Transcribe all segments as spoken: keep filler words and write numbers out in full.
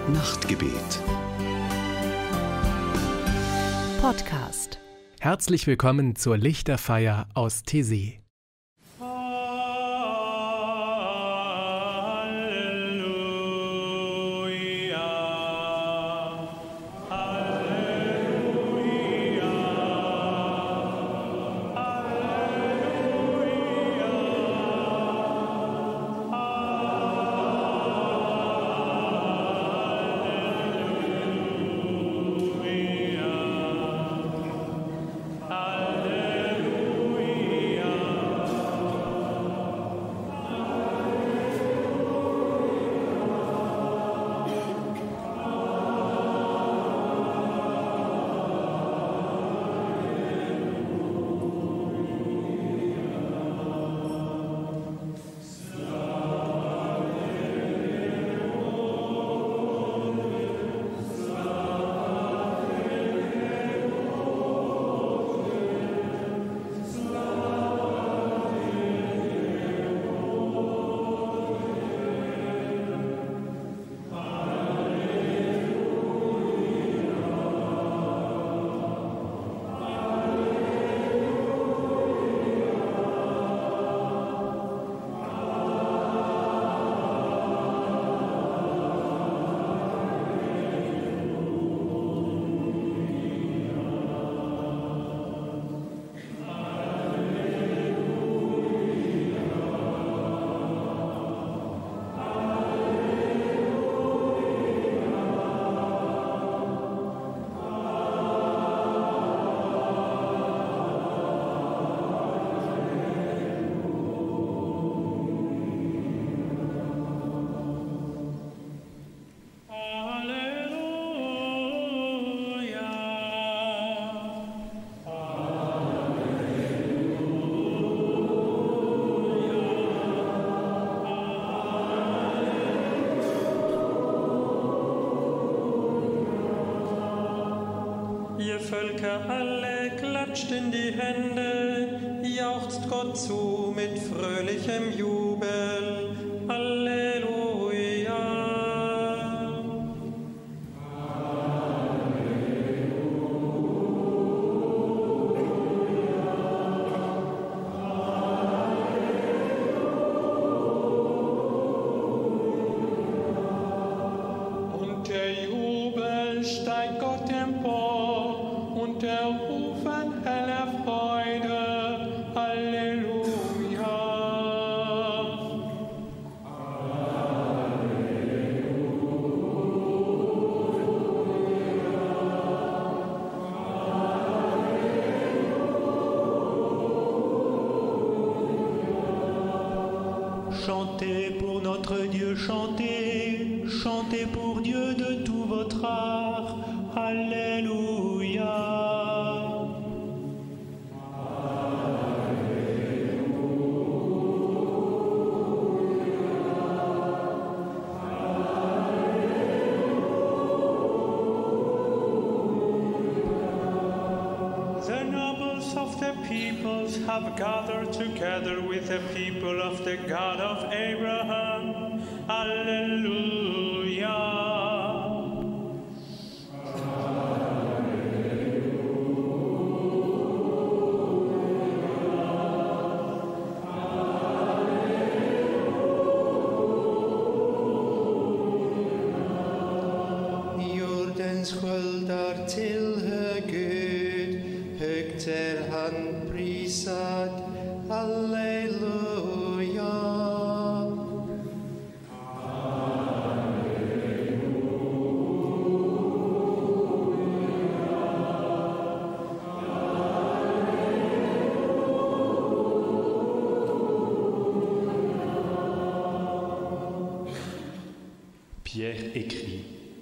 Nachtgebet. Podcast. Herzlich willkommen zur Lichterfeier aus Thésée. Ihr Völker alle, klatscht in die Hände, jauchzt Gott zu mit fröhlichem Jubel. Halleluja. Und der Jubel steigt Gott empor, und der Rufen heller Freude. Halleluja. Chantez pour notre Dieu, chantez, chantez pour Dieu de tout votre art. Alléluia. The nobles of the peoples have gathered together with the people of the God of Abraham. Alleluia. Jordens sköldar tillhör Gud, högt är han prisad. Halleluja. Pierre écrit: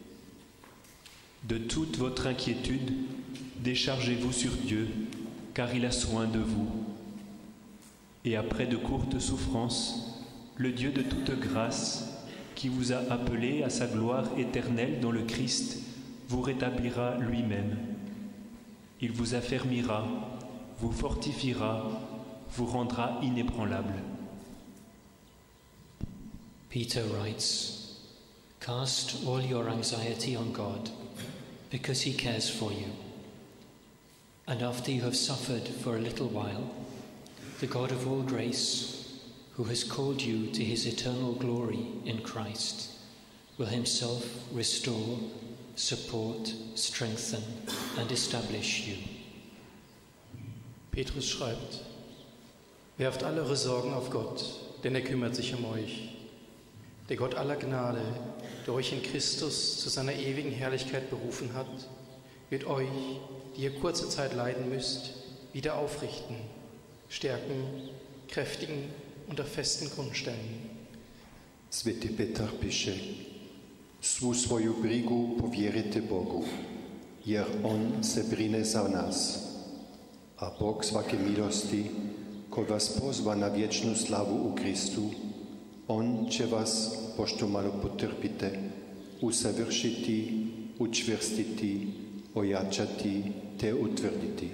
De toute votre inquiétude, déchargez-vous sur Dieu, car il a soin de vous. Et après de courtes souffrances, le Dieu de toute grâce, qui vous a appelé à sa gloire éternelle dans le Christ, vous rétablira lui-même. Il vous affermira, vous fortifiera, vous rendra inébranlable. Peter writes, Cast all your anxiety on God, because he cares for you. And after you have suffered for a little while, the God of all grace, who has called you to his eternal glory in Christ, will himself restore, support, strengthen and establish you. Petrus schreibt: Werft alle eure Sorgen auf Gott, denn er kümmert sich um euch. Der Gott aller Gnade, der euch in Christus zu seiner ewigen Herrlichkeit berufen hat, wird euch, die ihr kurze Zeit leiden müsst, wieder aufrichten, stärken, kräftigen und auf festen Grund stellen. Svätý Petar píše: Svou svoju brigu pověřte Bogu, jer On se brine za nás. A Bog svaké milosti, ko vás pozva na věčnou slavu u Kristu, On će vas, pošto malo potrpite, usavršiti, učvrstiti, ojačati te utvrditi.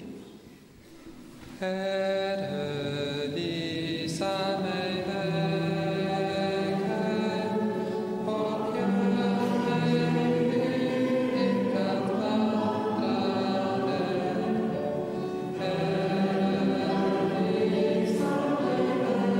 Herre, visa mig vägen och gör mig villig att vandra den. Herre, visa mig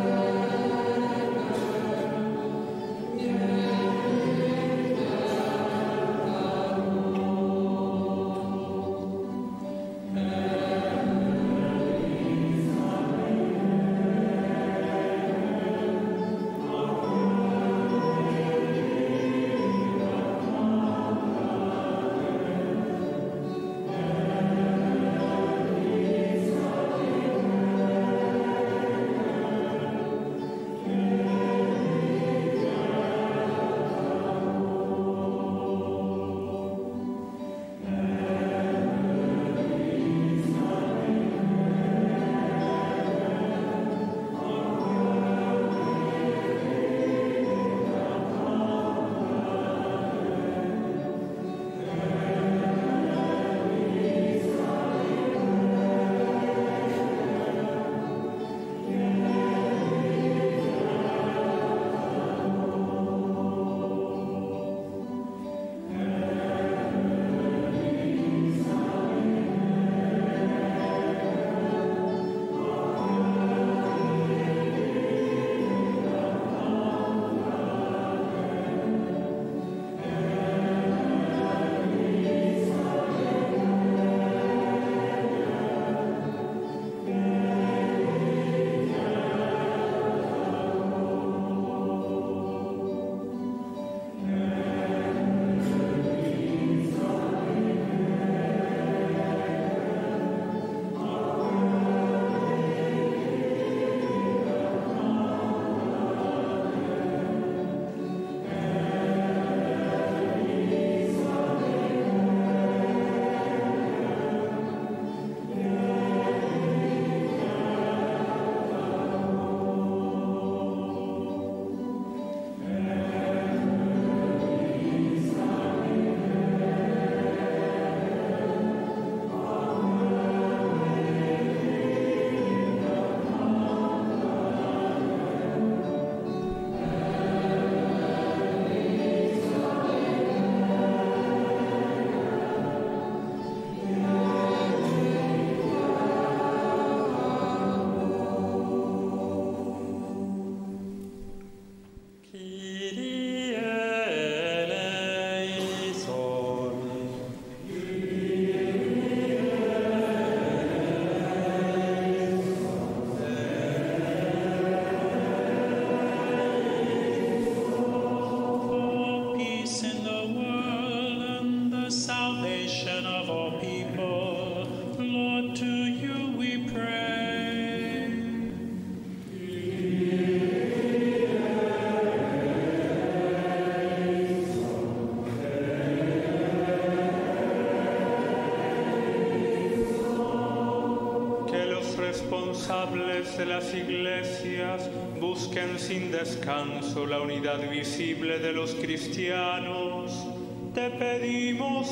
responsables de las iglesias busquen sin descanso la unidad visible de los cristianos. Te pedimos,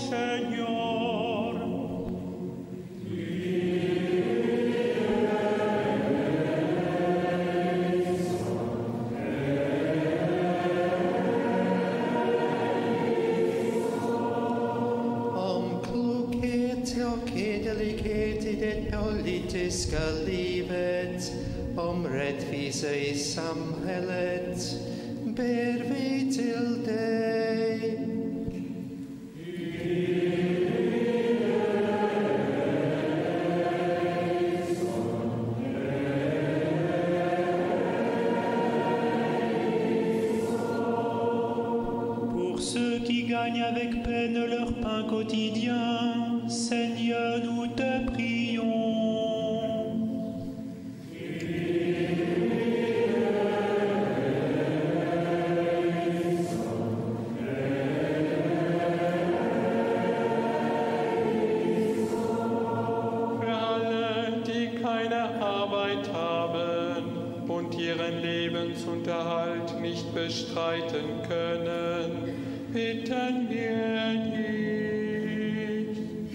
Señor. Que det politiska livet, om rättvisa i samhället, ber vi till dig. Avec peine leur pain quotidien, Seigneur, nous te prions. Für alle, die keine Arbeit haben und ihren Lebensunterhalt nicht bestreiten können, bitten wir dich.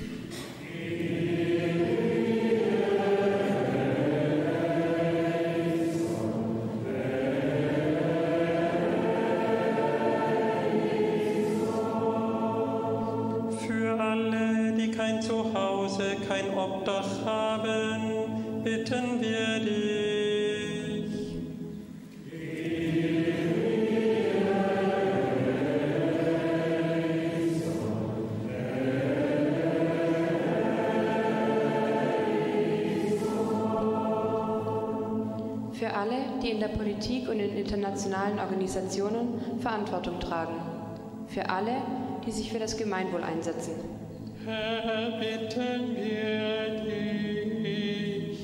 Für alle, die kein Zuhause, kein Obdach haben, bitten wir dich. Für alle, die in der Politik und in internationalen Organisationen Verantwortung tragen. Für alle, die sich für das Gemeinwohl einsetzen. Herr, bitten wir dich.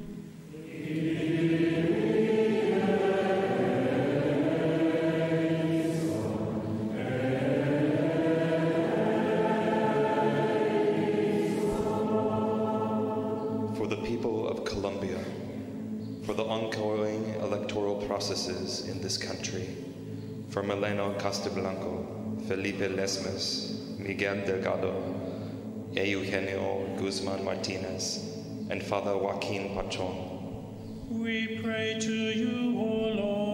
For the people of Colombia, for the ongoing electoral processes in this country, for Mileno Castablanco, Felipe Lesmes, Miguel Delgado, Eugenio Guzman Martinez, and Father Joaquin Pachon. We pray to you, O Lord.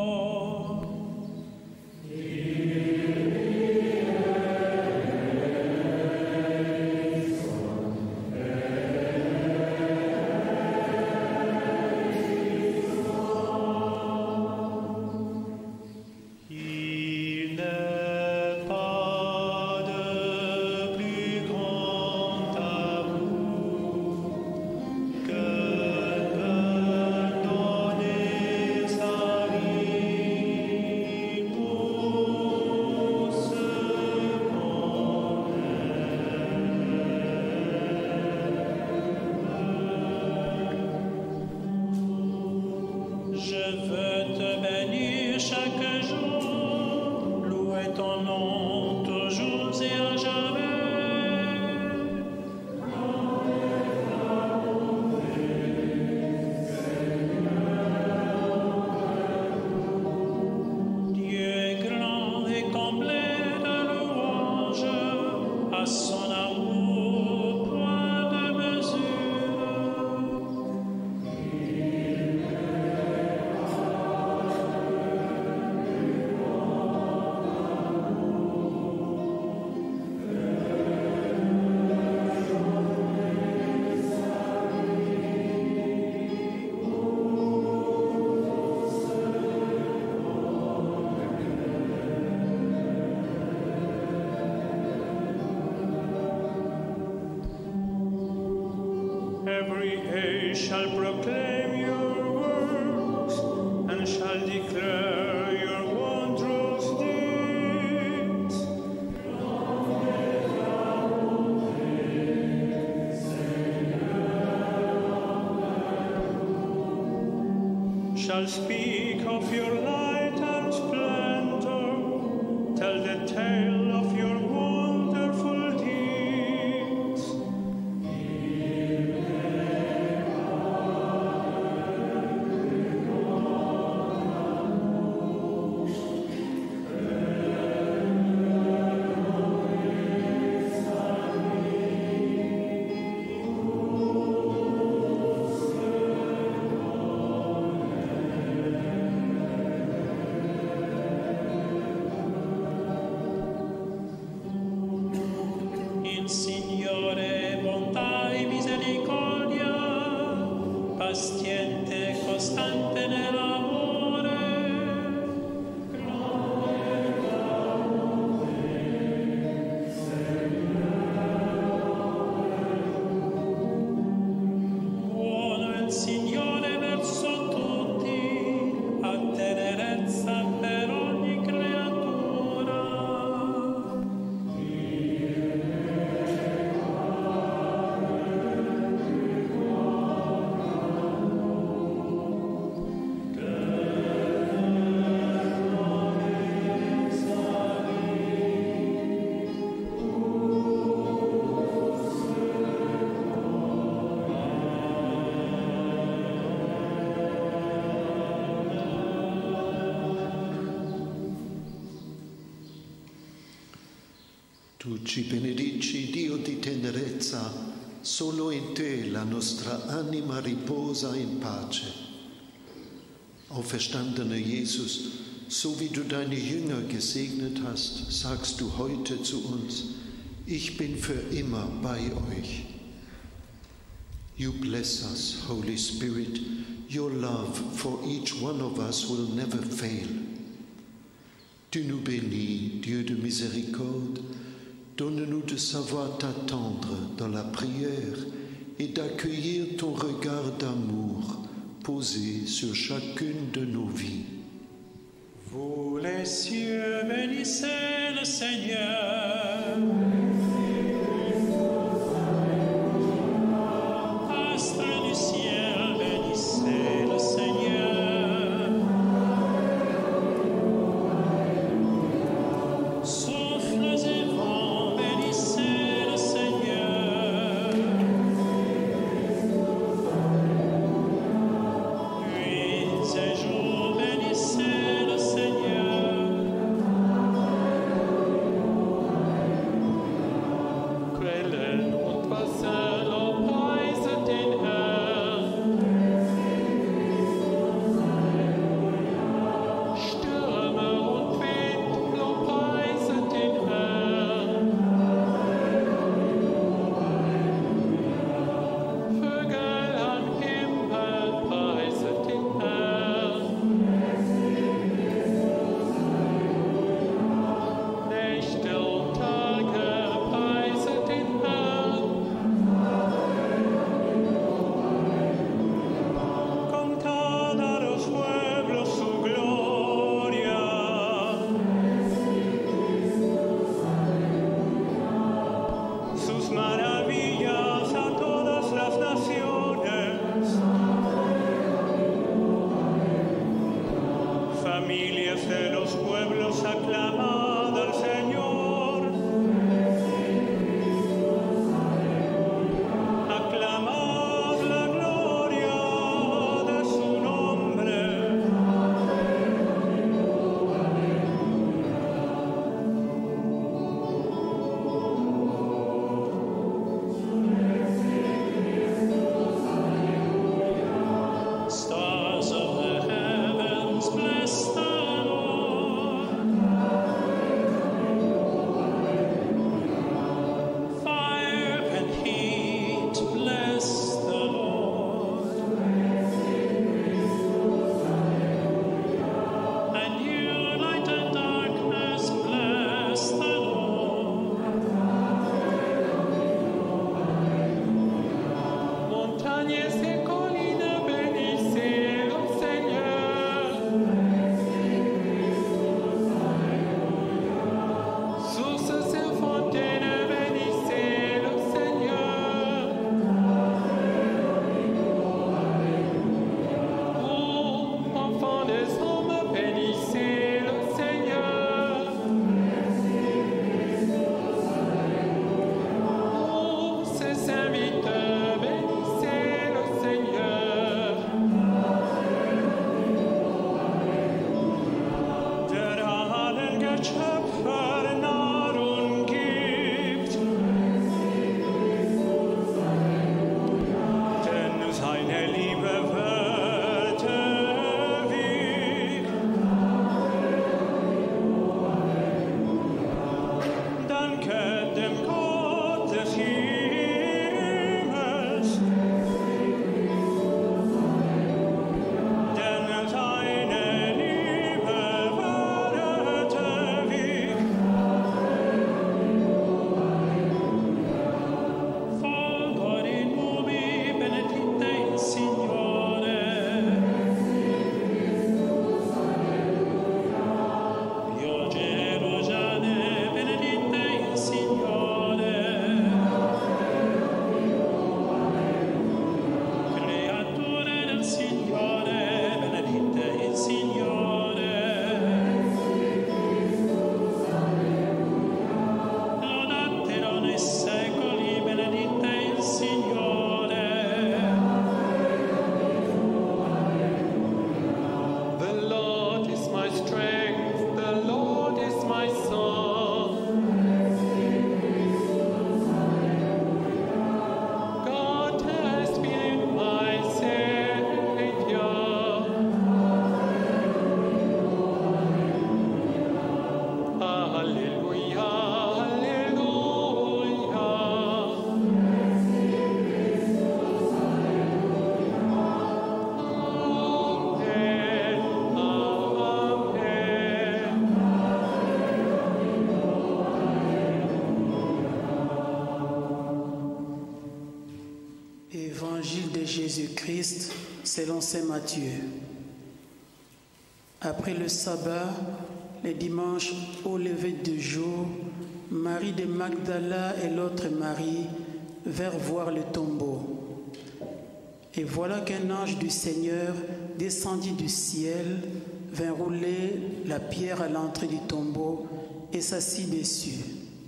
Every age shall proclaim your works and shall declare your wondrous deeds. Shall speak of your light and splendor, tell the tale of your wonderful deeds. Tu ci benedici, Dio di tenerezza, solo in te la nostra anima riposa in pace. Auferstandener Jesus, so wie du deine Jünger gesegnet hast, sagst du heute zu uns, ich bin für immer bei euch. You bless us, Holy Spirit. Your love for each one of us will never fail. Tu nous bénis, Dieu de miséricorde. Donne-nous de savoir t'attendre dans la prière et d'accueillir ton regard d'amour posé sur chacune de nos vies. Vous les cieux, bénissez le Seigneur. Astres du ciel, bénissez le Seigneur. Souffles et vents, bénissez le Seigneur. Nuits et jours, bénissez le Seigneur. Quellen und Wasser, lobpreiset den Herrn. Stürme und Wind, lobpreiset den Herrn. Vögel am Himmel, preiset den Herrn. Nächte und Tage, preiset den Herrn. Contad a los pueblos su gloria. Sus maravillas a todas las naciones. Familias de los pueblos, aclamad al Señor. Aclamad la gloria de su nombre. Stars of the heavens, bless the Lord. Fire and heat, bless the Lord. And you, light and darkness, bless the Lord. Montañas y colinas, bénissez le Seigneur. Sources et fontaines, bénissez le Seigneur. Ô enfants des hommes, bénissez le Seigneur. Ô ses serviteurs, bénissez le Seigneur. Der allen Geschöpfer Nahrung gibt, denn seine Liebe wird ewig. Danke dem Gott des Himmels, denn seine Liebe wird ewig. Jésus-Christ selon saint Matthieu. Après le sabbat, le dimanche au lever du jour, Marie de Magdala et l'autre Marie vinrent voir le tombeau. Et voilà qu'un ange du Seigneur descendit du ciel, vint rouler la pierre à l'entrée du tombeau et s'assit dessus.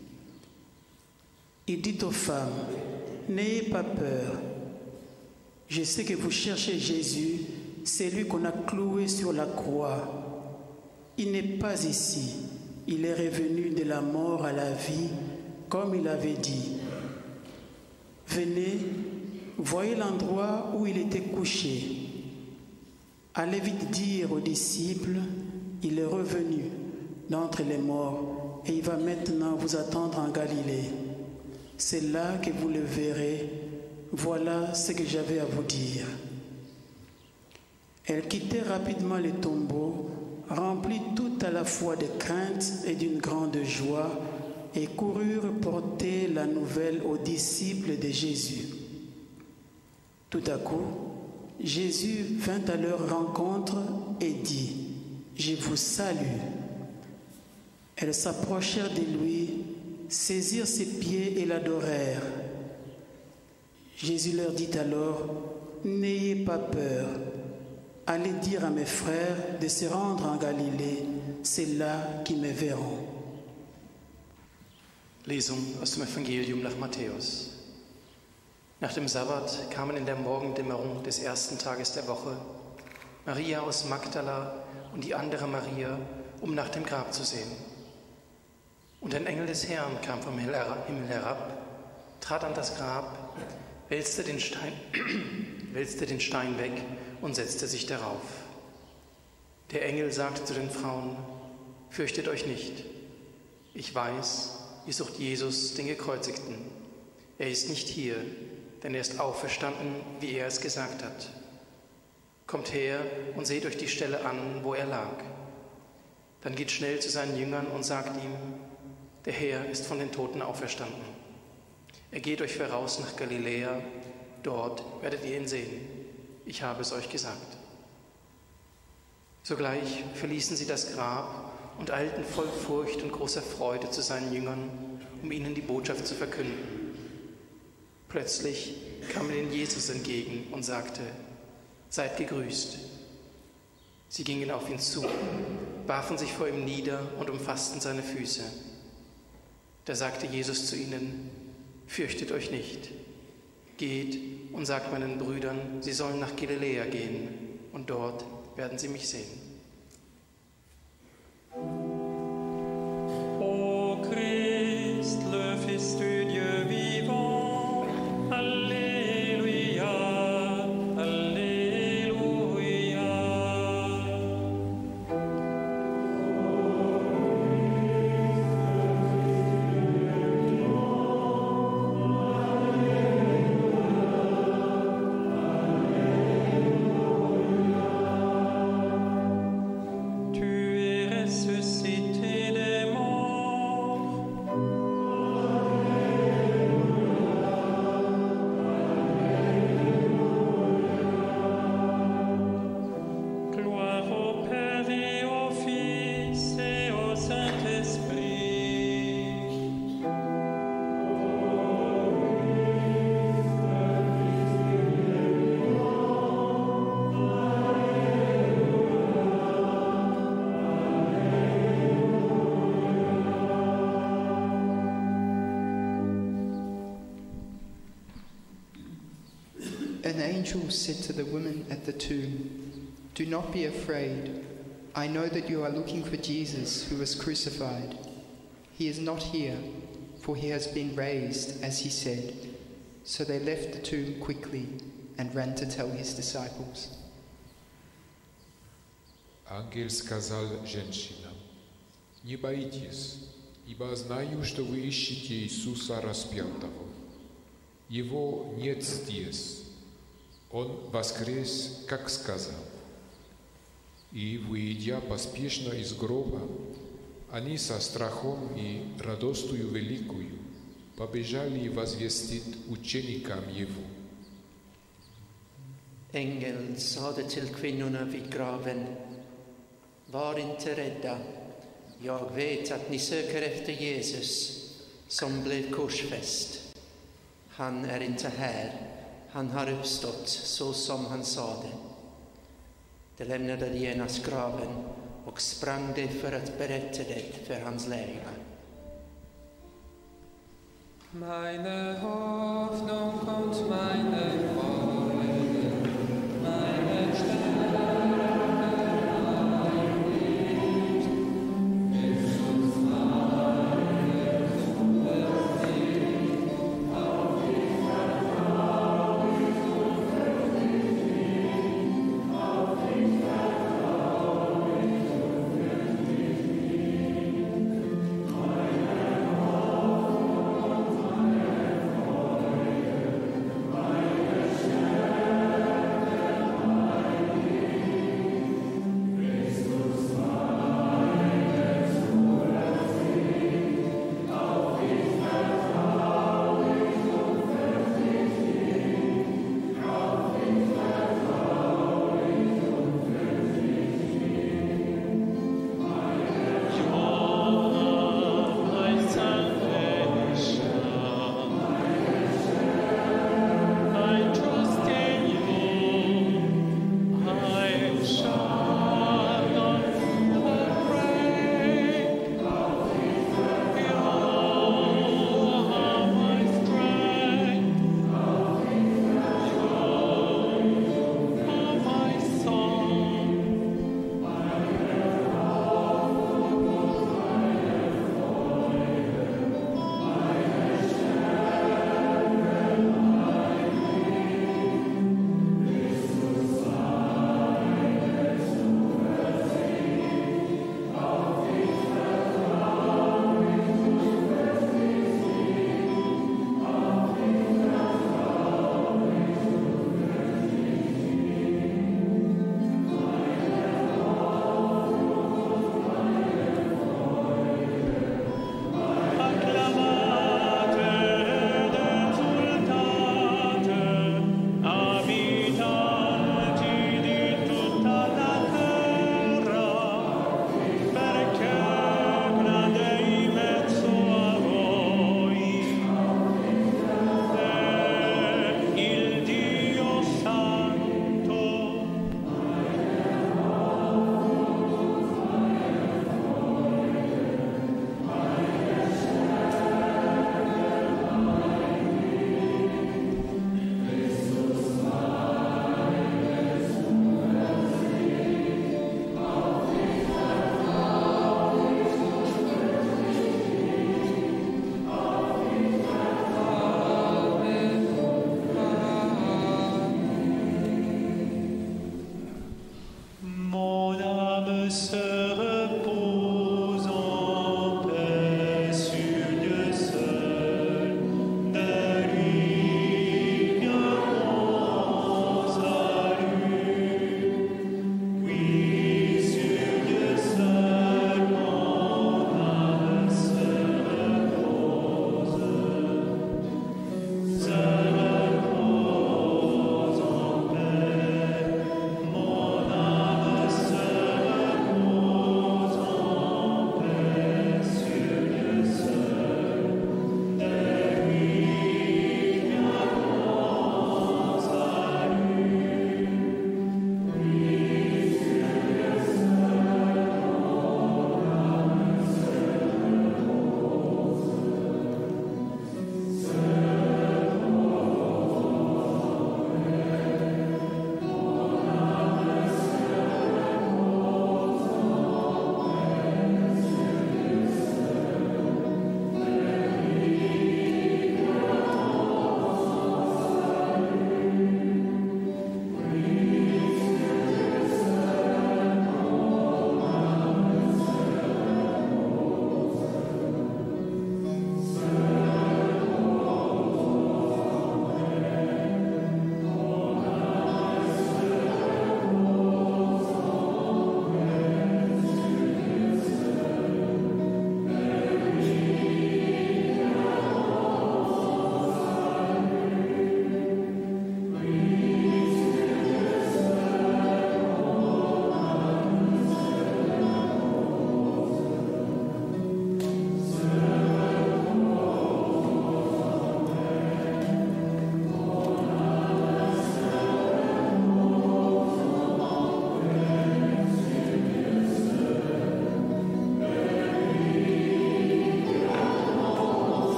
Il dit aux femmes, « N'ayez pas peur. Je sais que vous cherchez Jésus, celui qu'on a cloué sur la croix. Il n'est pas ici. Il est revenu de la mort à la vie, comme il avait dit. Venez, voyez l'endroit où il était couché. Allez vite dire aux disciples, il est revenu d'entre les morts et il va maintenant vous attendre en Galilée. C'est là que vous le verrez. Voilà ce que j'avais à vous dire. » Elles quittèrent rapidement le tombeau, remplies tout à la fois de crainte et d'une grande joie, et coururent porter la nouvelle aux disciples de Jésus. Tout à coup, Jésus vint à leur rencontre et dit, « Je vous salue. » Elles s'approchèrent de lui, saisirent ses pieds et l'adorèrent. Jésus leur dit alors, « N'ayez pas peur. Allez dire à mes frères de se rendre en Galilée, c'est là qu'ils me verront. » Lesung aus dem Evangelium nach Matthäus. Nach dem Sabbat kamen in der Morgendämmerung des ersten Tages der Woche Maria aus Magdala und die andere Maria, um nach dem Grab zu sehen. Und ein Engel des Herrn kam vom Himmel herab, trat an das Grab, wälzte den Stein, wälzte den Stein weg und setzte sich darauf. Der Engel sagte zu den Frauen, fürchtet euch nicht. Ich weiß, ihr sucht Jesus, den Gekreuzigten. Er ist nicht hier, denn er ist auferstanden, wie er es gesagt hat. Kommt her und seht euch die Stelle an, wo er lag. Dann geht schnell zu seinen Jüngern und sagt ihm, der Herr ist von den Toten auferstanden. Er geht euch voraus nach Galiläa, dort werdet ihr ihn sehen. Ich habe es euch gesagt. Sogleich verließen sie das Grab und eilten voll Furcht und großer Freude zu seinen Jüngern, um ihnen die Botschaft zu verkünden. Plötzlich kam ihnen Jesus entgegen und sagte, seid gegrüßt. Sie gingen auf ihn zu, warfen sich vor ihm nieder und umfassten seine Füße. Da sagte Jesus zu ihnen, fürchtet euch nicht. Geht und sagt meinen Brüdern, sie sollen nach Galiläa gehen, und dort werden sie mich sehen. Ô Christ, le Fils du Dieu vivant, Alléluia, Alléluia. An angel said to the women at the tomb, do not be afraid. I know that you are looking for Jesus who was crucified. He is not here, for he has been raised, as he said. So they left the tomb quickly and ran to tell his disciples. Ангел сказал женщинам, не боитесь, ибо знаю, что вы ищете Иисуса распятого. Его нет здесь. Он воскрес, как сказал. И, выйдя поспешно из гроба, они со страхом и радостью великою побежали возвестить ученикам Его. Ängel sade till kvinnorna vid graven, var inte rädda, jag vet att ni söker efter Jesus som blev korsfäst. Han är inte här, han har uppstått så som han sade. De lämnade genast graven och sprang det för att berätta det för hans lärjungar. Meine Hoffnung und meine Freude, meine Stärke, mein Licht, Jesus meine Zuversicht, auf dich vertraue ich und fürchte nicht, auf dich vertraue ich und fürchte nicht, meine Hoffnung.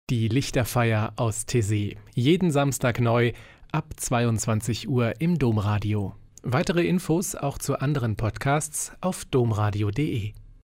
Die Lichterfeier aus Taizé. Jeden Samstag neu ab zweiundzwanzig Uhr im Domradio. Weitere Infos auch zu anderen Podcasts auf domradio punkt de.